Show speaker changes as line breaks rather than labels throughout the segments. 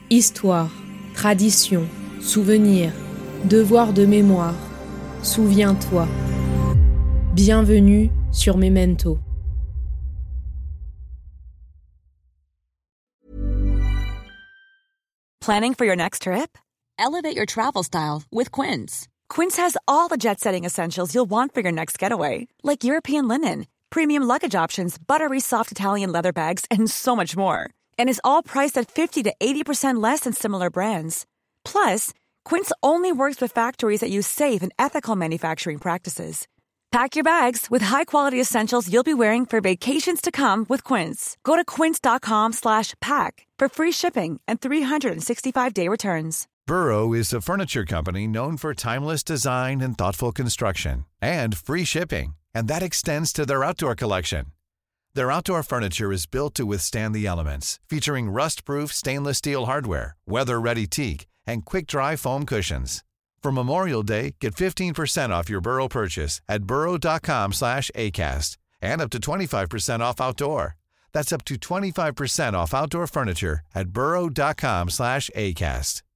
Histoire, tradition, souvenir, devoir de mémoire. Souviens-toi. Bienvenue sur Memento.
Planning for your next trip? Elevate your travel style with Quince. Quince has all the jet-setting essentials you'll want for your next getaway, like European linen, premium luggage options, buttery soft Italian leather bags, and so much more. And is all priced at 50 to 80% less than similar brands. Plus, Quince only works with factories that use safe and ethical manufacturing practices. Pack your bags with high-quality essentials you'll be wearing for vacations to come with Quince. Go to quince.com/pack for free shipping and 365-day returns.
Burrow is a furniture company known for timeless design and thoughtful construction, and free shipping, and that extends to their outdoor collection. Their outdoor furniture is built to withstand the elements, featuring rust-proof stainless steel hardware, weather-ready teak, and quick-dry foam cushions. For Memorial Day, get 15% off your Burrow purchase at burrow.com/acast, and up to 25% off outdoor. That's up to 25% off outdoor furniture at burrow.com/acast.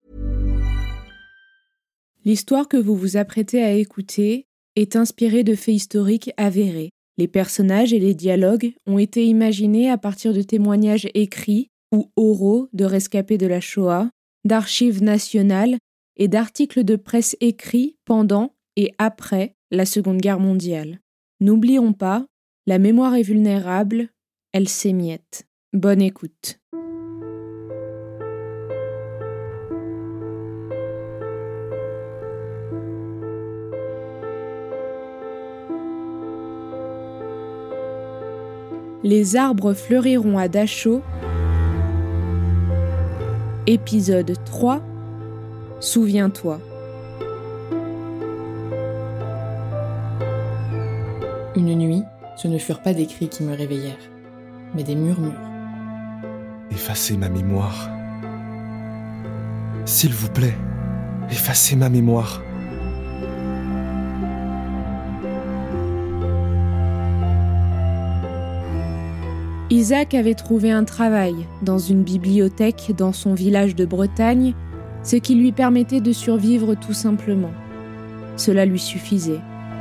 L'histoire que vous vous apprêtez à écouter est inspirée de faits historiques avérés. Les personnages et les dialogues ont été imaginés à partir de témoignages écrits ou oraux de rescapés de la Shoah, d'archives nationales et d'articles de presse écrits pendant et après la Seconde Guerre mondiale. N'oublions pas, la mémoire est vulnérable, elle s'émiette. Bonne écoute. Les arbres fleuriront à Dachau. Épisode 3. Souviens-toi.
Une nuit, ce ne furent pas des cris qui me réveillèrent, mais des murmures.
Effacez ma mémoire. S'il vous plaît, effacez ma mémoire.
Isaac avait trouvé un travail dans une bibliothèque dans son village de Bretagne, ce qui lui permettait de survivre tout simplement. Cela lui suffisait.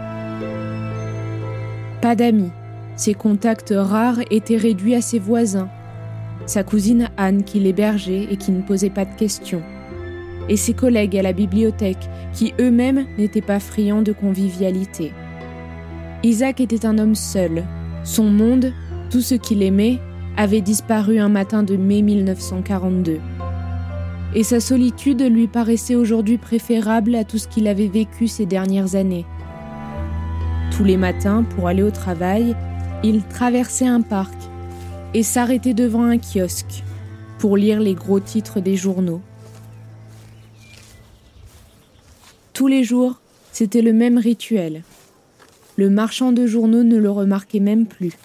Pas d'amis, ses contacts rares étaient réduits à ses voisins, sa cousine Anne qui l'hébergeait et qui ne posait pas de questions, et ses collègues à la bibliothèque qui eux-mêmes n'étaient pas friands de convivialité. Isaac était un homme seul, son monde, tout ce qu'il aimait, avait disparu un matin de mai 1942. Et sa solitude lui paraissait aujourd'hui préférable à tout ce qu'il avait vécu ces dernières années. Tous les matins, pour aller au travail, il traversait un parc et s'arrêtait devant un kiosque pour lire les gros titres des journaux. Tous les jours, c'était le même rituel. Le marchand de journaux ne le remarquait même plus.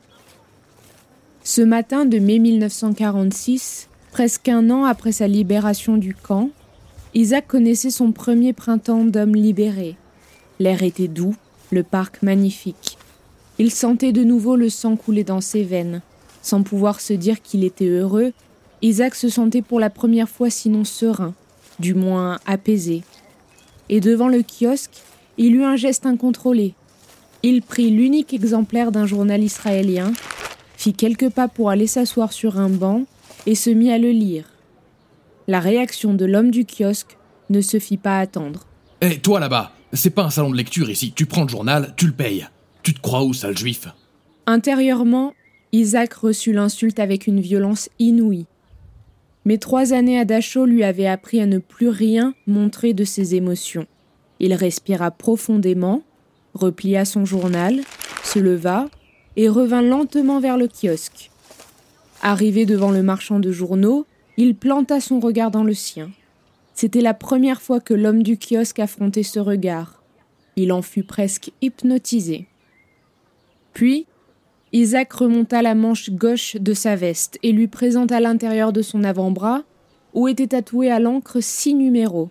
Ce matin de mai 1946, presque un an après sa libération du camp, Isaac connaissait son premier printemps d'homme libéré. L'air était doux, le parc magnifique. Il sentait de nouveau le sang couler dans ses veines. Sans pouvoir se dire qu'il était heureux, Isaac se sentait pour la première fois sinon serein, du moins apaisé. Et devant le kiosque, il eut un geste incontrôlé. Il prit l'unique exemplaire d'un journal israélien, fit quelques pas pour aller s'asseoir sur un banc et se mit à le lire. La réaction de l'homme du kiosque ne se fit pas attendre.
« Hé, toi là-bas, c'est pas un salon de lecture ici. Tu prends le journal, tu le payes. Tu te crois où, sale juif ?»
Intérieurement, Isaac reçut l'insulte avec une violence inouïe. Mais 3 années à Dachau lui avaient appris à ne plus rien montrer de ses émotions. Il respira profondément, replia son journal, se leva et revint lentement vers le kiosque. Arrivé devant le marchand de journaux, il planta son regard dans le sien. C'était la première fois que l'homme du kiosque affrontait ce regard. Il en fut presque hypnotisé. Puis, Isaac remonta la manche gauche de sa veste et lui présenta l'intérieur de son avant-bras, où étaient tatoués à l'encre 6 numéros.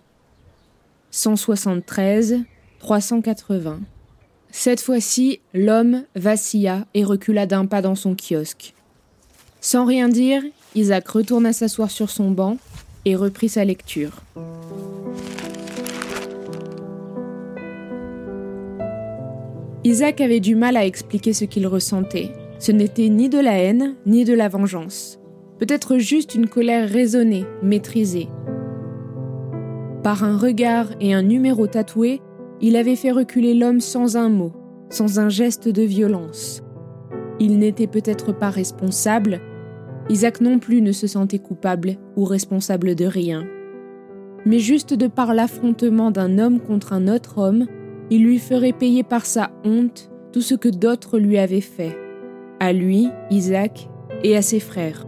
173, 380. Cette fois-ci, l'homme vacilla et recula d'un pas dans son kiosque. Sans rien dire, Isaac retourna s'asseoir sur son banc et reprit sa lecture. Isaac avait du mal à expliquer ce qu'il ressentait. Ce n'était ni de la haine, ni de la vengeance. Peut-être juste une colère raisonnée, maîtrisée. Par un regard et un numéro tatoué, il avait fait reculer l'homme sans un mot, sans un geste de violence. Il n'était peut-être pas responsable. Isaac non plus ne se sentait coupable ou responsable de rien. Mais juste de par l'affrontement d'un homme contre un autre homme, il lui ferait payer par sa honte tout ce que d'autres lui avaient fait. À lui, Isaac, et à ses frères.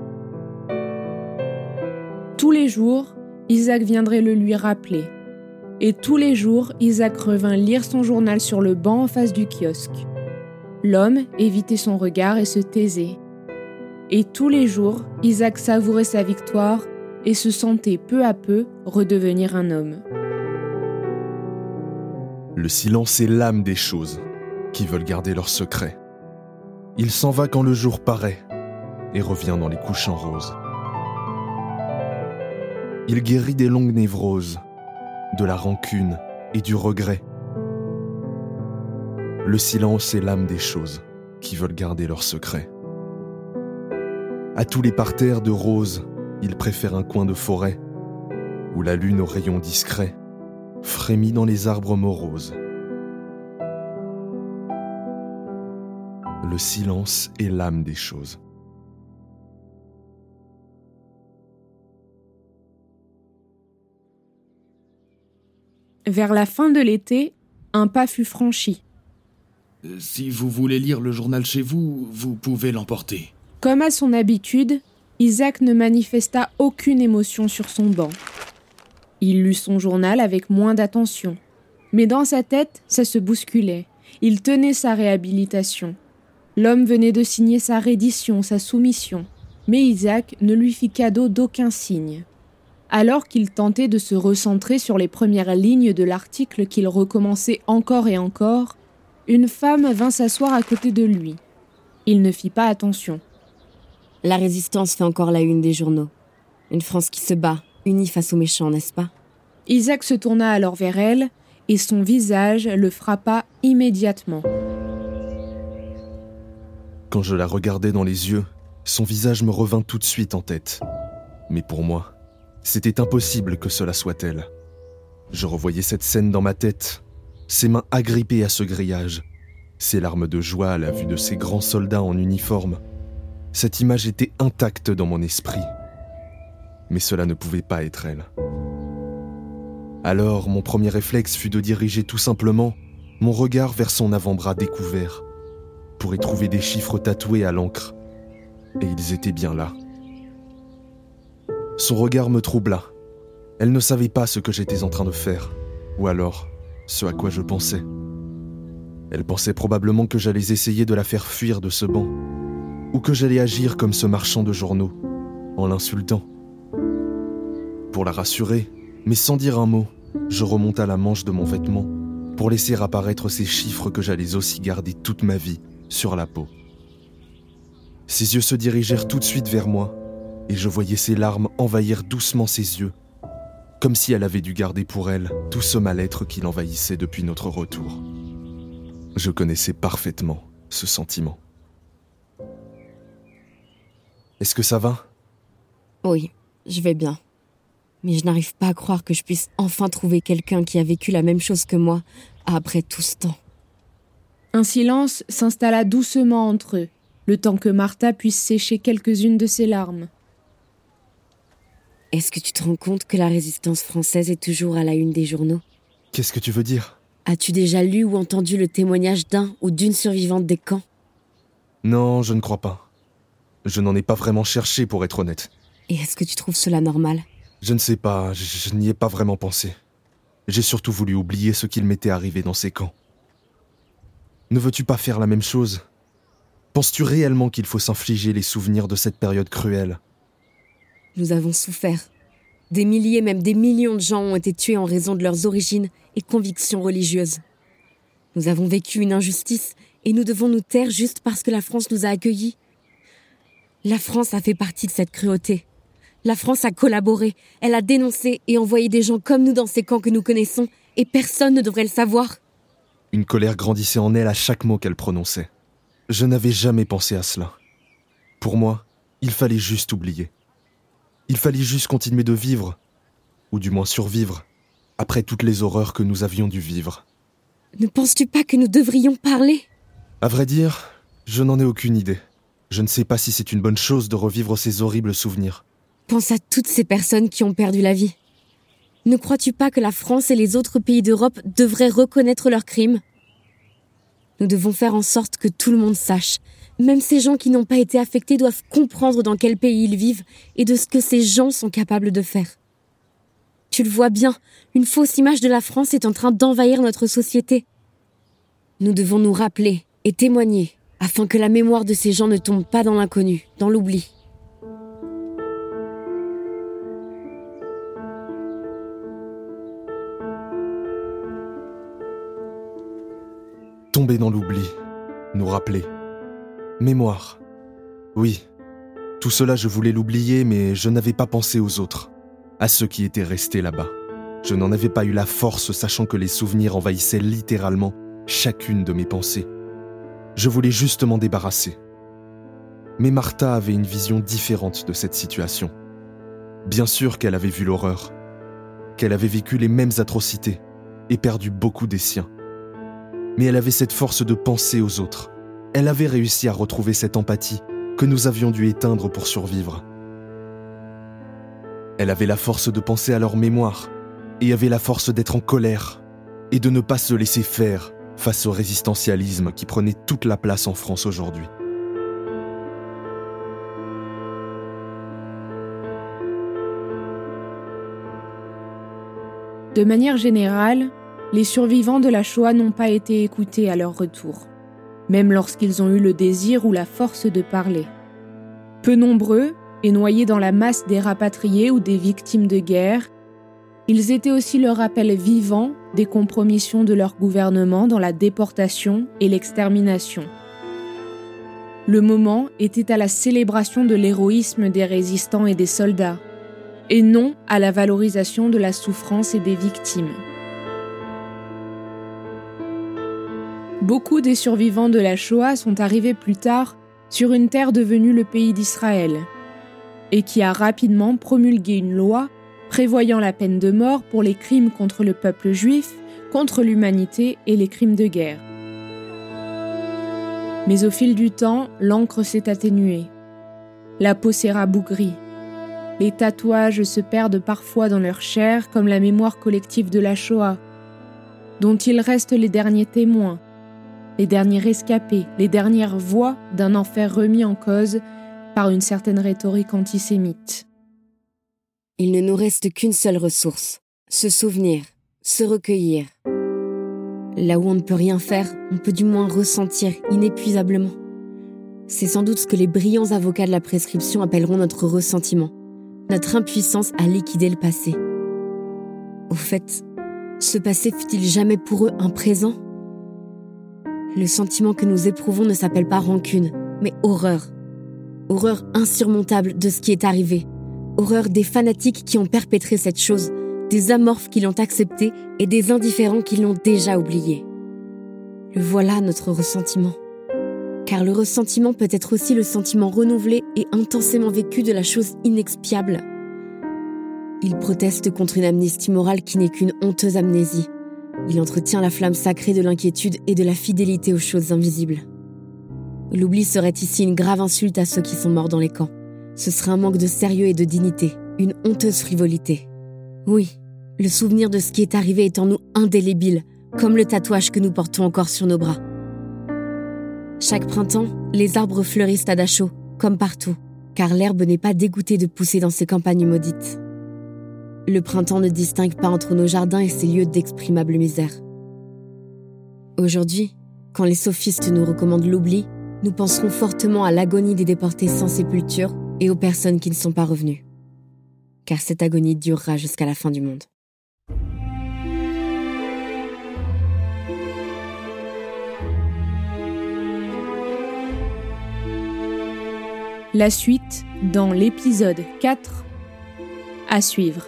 Tous les jours, Isaac viendrait le lui rappeler. Et tous les jours, Isaac revint lire son journal sur le banc en face du kiosque. L'homme évitait son regard et se taisait. Et tous les jours, Isaac savourait sa victoire et se sentait peu à peu redevenir un homme.
Le silence est l'âme des choses qui veulent garder leurs secrets. Il s'en va quand le jour paraît et revient dans les couchants roses. Il guérit des longues névroses, de la rancune et du regret. Le silence est l'âme des choses qui veulent garder leurs secrets. À tous les parterres de roses, il préfère un coin de forêt où la lune aux rayons discrets frémit dans les arbres moroses. Le silence est l'âme des choses.
Vers la fin de l'été, un pas fut franchi.
Si vous voulez lire le journal chez vous, vous pouvez l'emporter.
Comme à son habitude, Isaac ne manifesta aucune émotion sur son banc. Il lut son journal avec moins d'attention. Mais dans sa tête, ça se bousculait. Il tenait sa réhabilitation. L'homme venait de signer sa reddition, sa soumission. Mais Isaac ne lui fit cadeau d'aucun signe. Alors qu'il tentait de se recentrer sur les premières lignes de l'article qu'il recommençait encore et encore, une femme vint s'asseoir à côté de lui. Il ne fit pas attention.
La résistance fait encore la une des journaux. Une France qui se bat, unie face aux méchants, n'est-ce pas ?
Isaac se tourna alors vers elle et son visage le frappa immédiatement.
Quand je la regardais dans les yeux, son visage me revint tout de suite en tête. Mais pour moi, c'était impossible que cela soit elle. Je revoyais cette scène dans ma tête, ses mains agrippées à ce grillage, ses larmes de joie à la vue de ces grands soldats en uniforme. Cette image était intacte dans mon esprit. Mais cela ne pouvait pas être elle. Alors, mon premier réflexe fut de diriger tout simplement mon regard vers son avant-bras découvert, pour y trouver des chiffres tatoués à l'encre. Et ils étaient bien là. Son regard me troubla. Elle ne savait pas ce que j'étais en train de faire, ou alors ce à quoi je pensais. Elle pensait probablement que j'allais essayer de la faire fuir de ce banc, ou que j'allais agir comme ce marchand de journaux, en l'insultant. Pour la rassurer, mais sans dire un mot, je remonta la manche de mon vêtement pour laisser apparaître ces chiffres que j'allais aussi garder toute ma vie sur la peau. Ses yeux se dirigèrent tout de suite vers moi, et je voyais ses larmes envahir doucement ses yeux, comme si elle avait dû garder pour elle tout ce mal-être qui l'envahissait depuis notre retour. Je connaissais parfaitement ce sentiment. Est-ce que ça va ?
Oui, je vais bien. Mais je n'arrive pas à croire que je puisse enfin trouver quelqu'un qui a vécu la même chose que moi après tout ce temps.
Un silence s'installa doucement entre eux, le temps que Martha puisse sécher quelques-unes de ses larmes.
Est-ce que tu te rends compte que la résistance française est toujours à la une des journaux ?
Qu'est-ce que tu veux dire ?
As-tu déjà lu ou entendu le témoignage d'un ou d'une survivante des camps ?
Non, je ne crois pas. Je n'en ai pas vraiment cherché, pour être honnête.
Et est-ce que tu trouves cela normal ?
Je ne sais pas, je n'y ai pas vraiment pensé. J'ai surtout voulu oublier ce qu'il m'était arrivé dans ces camps. Ne veux-tu pas faire la même chose ? Penses-tu réellement qu'il faut s'infliger les souvenirs de cette période cruelle ?
Nous avons souffert. Des milliers, même des millions de gens ont été tués en raison de leurs origines et convictions religieuses. Nous avons vécu une injustice et nous devons nous taire juste parce que la France nous a accueillis. La France a fait partie de cette cruauté. La France a collaboré, elle a dénoncé et envoyé des gens comme nous dans ces camps que nous connaissons, et personne ne devrait le savoir.
Une colère grandissait en elle à chaque mot qu'elle prononçait. Je n'avais jamais pensé à cela. Pour moi, il fallait juste oublier. Il fallait juste continuer de vivre, ou du moins survivre, après toutes les horreurs que nous avions dû vivre.
Ne penses-tu pas que nous devrions parler ?
À vrai dire, je n'en ai aucune idée. Je ne sais pas si c'est une bonne chose de revivre ces horribles souvenirs.
Pense à toutes ces personnes qui ont perdu la vie. Ne crois-tu pas que la France et les autres pays d'Europe devraient reconnaître leurs crimes ? Nous devons faire en sorte que tout le monde sache. Même ces gens qui n'ont pas été affectés doivent comprendre dans quel pays ils vivent et de ce que ces gens sont capables de faire. Tu le vois bien, une fausse image de la France est en train d'envahir notre société. Nous devons nous rappeler et témoigner afin que la mémoire de ces gens ne tombe pas dans l'inconnu, dans l'oubli.
Tomber dans l'oubli, nous rappeler. Mémoire. Oui, tout cela je voulais l'oublier, mais je n'avais pas pensé aux autres, à ceux qui étaient restés là-bas. Je n'en avais pas eu la force, sachant que les souvenirs envahissaient littéralement chacune de mes pensées. Je voulais juste m'en débarrasser. Mais Martha avait une vision différente de cette situation. Bien sûr qu'elle avait vu l'horreur, qu'elle avait vécu les mêmes atrocités et perdu beaucoup des siens. Mais elle avait cette force de penser aux autres. Elle avait réussi à retrouver cette empathie que nous avions dû éteindre pour survivre. Elle avait la force de penser à leur mémoire et avait la force d'être en colère et de ne pas se laisser faire face au résistentialisme qui prenait toute la place en France aujourd'hui.
De manière générale, les survivants de la Shoah n'ont pas été écoutés à leur retour, même lorsqu'ils ont eu le désir ou la force de parler. Peu nombreux, et noyés dans la masse des rapatriés ou des victimes de guerre, ils étaient aussi le rappel vivant des compromissions de leur gouvernement dans la déportation et l'extermination. Le moment était à la célébration de l'héroïsme des résistants et des soldats, et non à la valorisation de la souffrance et des victimes. Beaucoup des survivants de la Shoah sont arrivés plus tard sur une terre devenue le pays d'Israël, et qui a rapidement promulgué une loi prévoyant la peine de mort pour les crimes contre le peuple juif, contre l'humanité et les crimes de guerre. Mais au fil du temps, l'encre s'est atténuée. La peau s'est rabougrie. Les tatouages se perdent parfois dans leur chair comme la mémoire collective de la Shoah, dont il reste les derniers témoins, les derniers rescapés, les dernières voix d'un enfer remis en cause par une certaine rhétorique antisémite.
Il ne nous reste qu'une seule ressource, se souvenir, se recueillir. Là où on ne peut rien faire, on peut du moins ressentir inépuisablement. C'est sans doute ce que les brillants avocats de la prescription appelleront notre ressentiment, notre impuissance à liquider le passé. Au fait, ce passé fut-il jamais pour eux un présent ? Le sentiment que nous éprouvons ne s'appelle pas rancune, mais horreur. Horreur insurmontable de ce qui est arrivé. Horreur des fanatiques qui ont perpétré cette chose, des amorphes qui l'ont acceptée et des indifférents qui l'ont déjà oublié. Le voilà notre ressentiment. Car le ressentiment peut être aussi le sentiment renouvelé et intensément vécu de la chose inexpiable. Il proteste contre une amnistie morale qui n'est qu'une honteuse amnésie. Il entretient la flamme sacrée de l'inquiétude et de la fidélité aux choses invisibles. L'oubli serait ici une grave insulte à ceux qui sont morts dans les camps. Ce serait un manque de sérieux et de dignité, une honteuse frivolité. Oui, le souvenir de ce qui est arrivé est en nous indélébile, comme le tatouage que nous portons encore sur nos bras. Chaque printemps, les arbres fleurissent à Dachau, comme partout, car l'herbe n'est pas dégoûtée de pousser dans ces campagnes maudites. Le printemps ne distingue pas entre nos jardins et ces lieux d'exprimable misère. Aujourd'hui, quand les sophistes nous recommandent l'oubli, nous penserons fortement à l'agonie des déportés sans sépulture et aux personnes qui ne sont pas revenues. Car cette agonie durera jusqu'à la fin du monde.
La suite dans l'épisode 4 À suivre.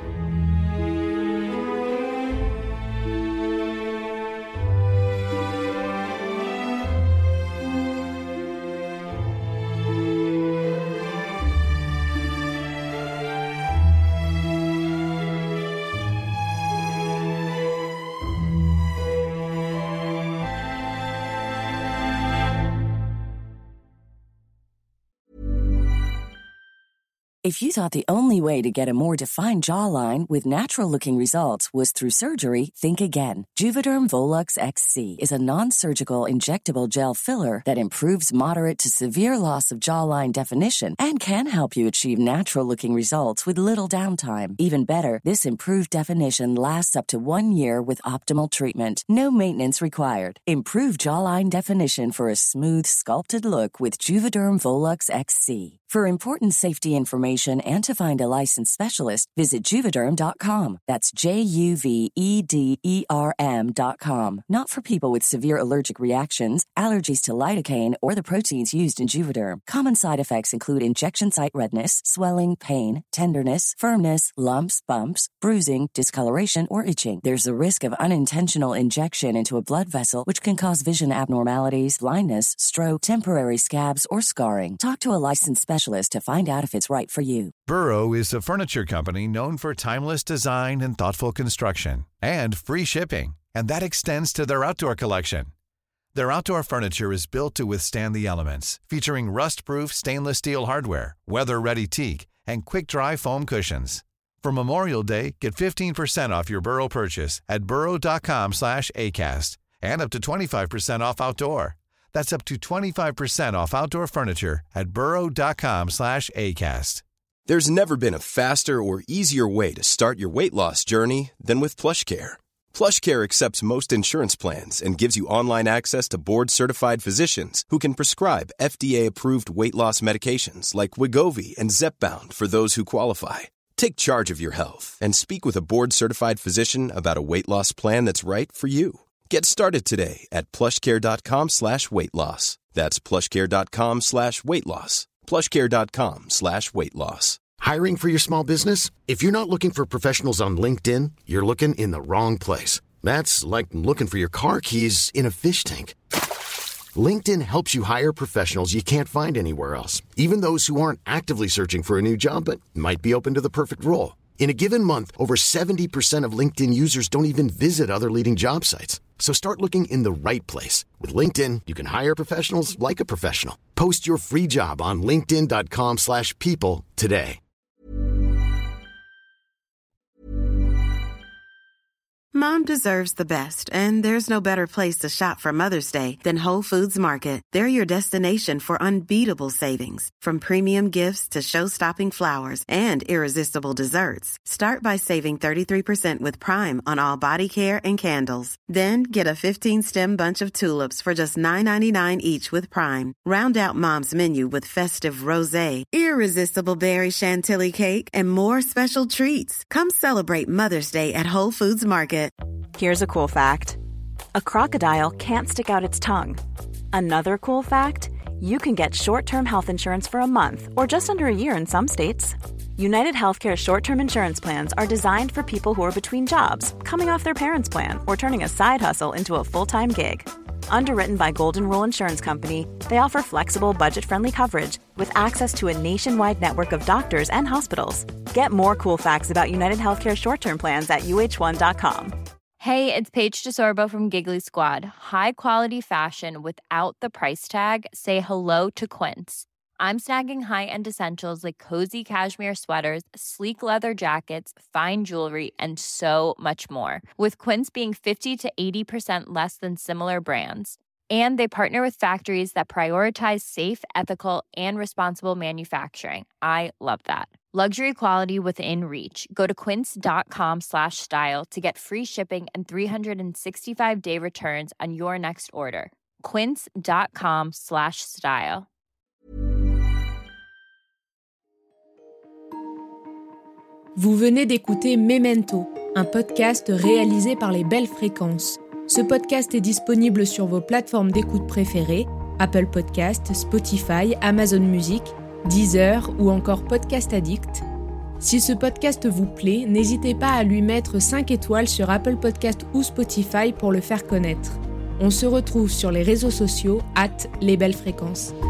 If you thought the only way to get a more defined jawline with natural-looking results was through surgery, think again. Juvederm Volux XC is a non-surgical injectable gel filler that improves moderate to severe loss of jawline definition and can help you achieve natural-looking results with little downtime. Even better, this improved definition lasts up to 1 year with optimal treatment. No maintenance required. Improve jawline definition for a smooth, sculpted look with Juvederm Volux XC. For important safety information and to find a licensed specialist, visit Juvederm.com. That's Juvederm.com. Not for people with severe allergic reactions, allergies to lidocaine, or the proteins used in Juvederm. Common side effects include injection site redness, swelling, pain, tenderness, firmness, lumps, bumps, bruising, discoloration, or itching. There's a risk of unintentional injection into a blood vessel, which can cause vision abnormalities, blindness, stroke, temporary scabs, or scarring. Talk to a licensed specialist to find out if it's right for you.
Burrow is a furniture company known for timeless design and thoughtful construction, and free shipping, and that extends to their outdoor collection. Their outdoor furniture is built to withstand the elements, featuring rust-proof stainless steel hardware, weather-ready teak, and quick-dry foam cushions. For Memorial Day, get 15% off your Burrow purchase at burrow.com/acast, and up to 25% off outdoor. That's up to 25% off outdoor furniture at burrow.com/acast.
There's never been a faster or easier way to start your weight loss journey than with PlushCare. PlushCare accepts most insurance plans and gives you online access to board-certified physicians who can prescribe FDA-approved weight loss medications like Wegovy and Zepbound for those who qualify. Take charge of your health and speak with a board-certified physician about a weight loss plan that's right for you. Get started today at plushcare.com/weightloss. That's plushcare.com/weightloss. plushcare.com/weightloss.
Hiring for your small business? If you're not looking for professionals on LinkedIn, you're looking in the wrong place. That's like looking for your car keys in a fish tank. LinkedIn helps you hire professionals you can't find anywhere else, even those who aren't actively searching for a new job but might be open to the perfect role. In a given month, over 70% of LinkedIn users don't even visit other leading job sites. So start looking in the right place. With LinkedIn, you can hire professionals like a professional. Post your free job on linkedin.com/people today.
Mom deserves the best, and there's no better place to shop for Mother's Day than Whole Foods Market. They're your destination for unbeatable savings, from premium gifts to show-stopping flowers and irresistible desserts. Start by saving 33% with Prime on all body care and candles. Then get a 15-stem bunch of tulips for just $9.99 each with Prime. Round out Mom's menu with festive rosé, irresistible berry chantilly cake, and more special treats. Come celebrate Mother's Day at Whole Foods Market.
Here's a cool fact. A crocodile can't stick out its tongue. Another cool fact, you can get short-term health insurance for a month or just under a year in some states. United Healthcare short-term insurance plans are designed for people who are between jobs, coming off their parents' plan, or turning a side hustle into a full-time gig. Underwritten by Golden Rule Insurance Company, they offer flexible, budget-friendly coverage with access to a nationwide network of doctors and hospitals. Get more cool facts about United Healthcare short-term plans at uh1.com.
Hey, it's Paige DeSorbo from Giggly Squad. High quality fashion without the price tag. Say hello to Quince. I'm snagging high-end essentials like cozy cashmere sweaters, sleek leather jackets, fine jewelry, and so much more. With Quince being 50 to 80% less than similar brands. And they partner with factories that prioritize safe, ethical, and responsible manufacturing. I love that. Luxury quality within reach. Go to quince.com/style to get free shipping and 365-day returns on your next order. Quince.com/style.
Vous venez d'écouter Memento, un podcast réalisé par les Belles Fréquences. Ce podcast est disponible sur vos plateformes d'écoute préférées, Apple Podcasts, Spotify, Amazon Music, Deezer ou encore Podcast Addict. Si ce podcast vous plaît, n'hésitez pas à lui mettre 5 étoiles sur Apple Podcast ou Spotify pour le faire connaître. On se retrouve sur les réseaux sociaux @lesbellesfréquences.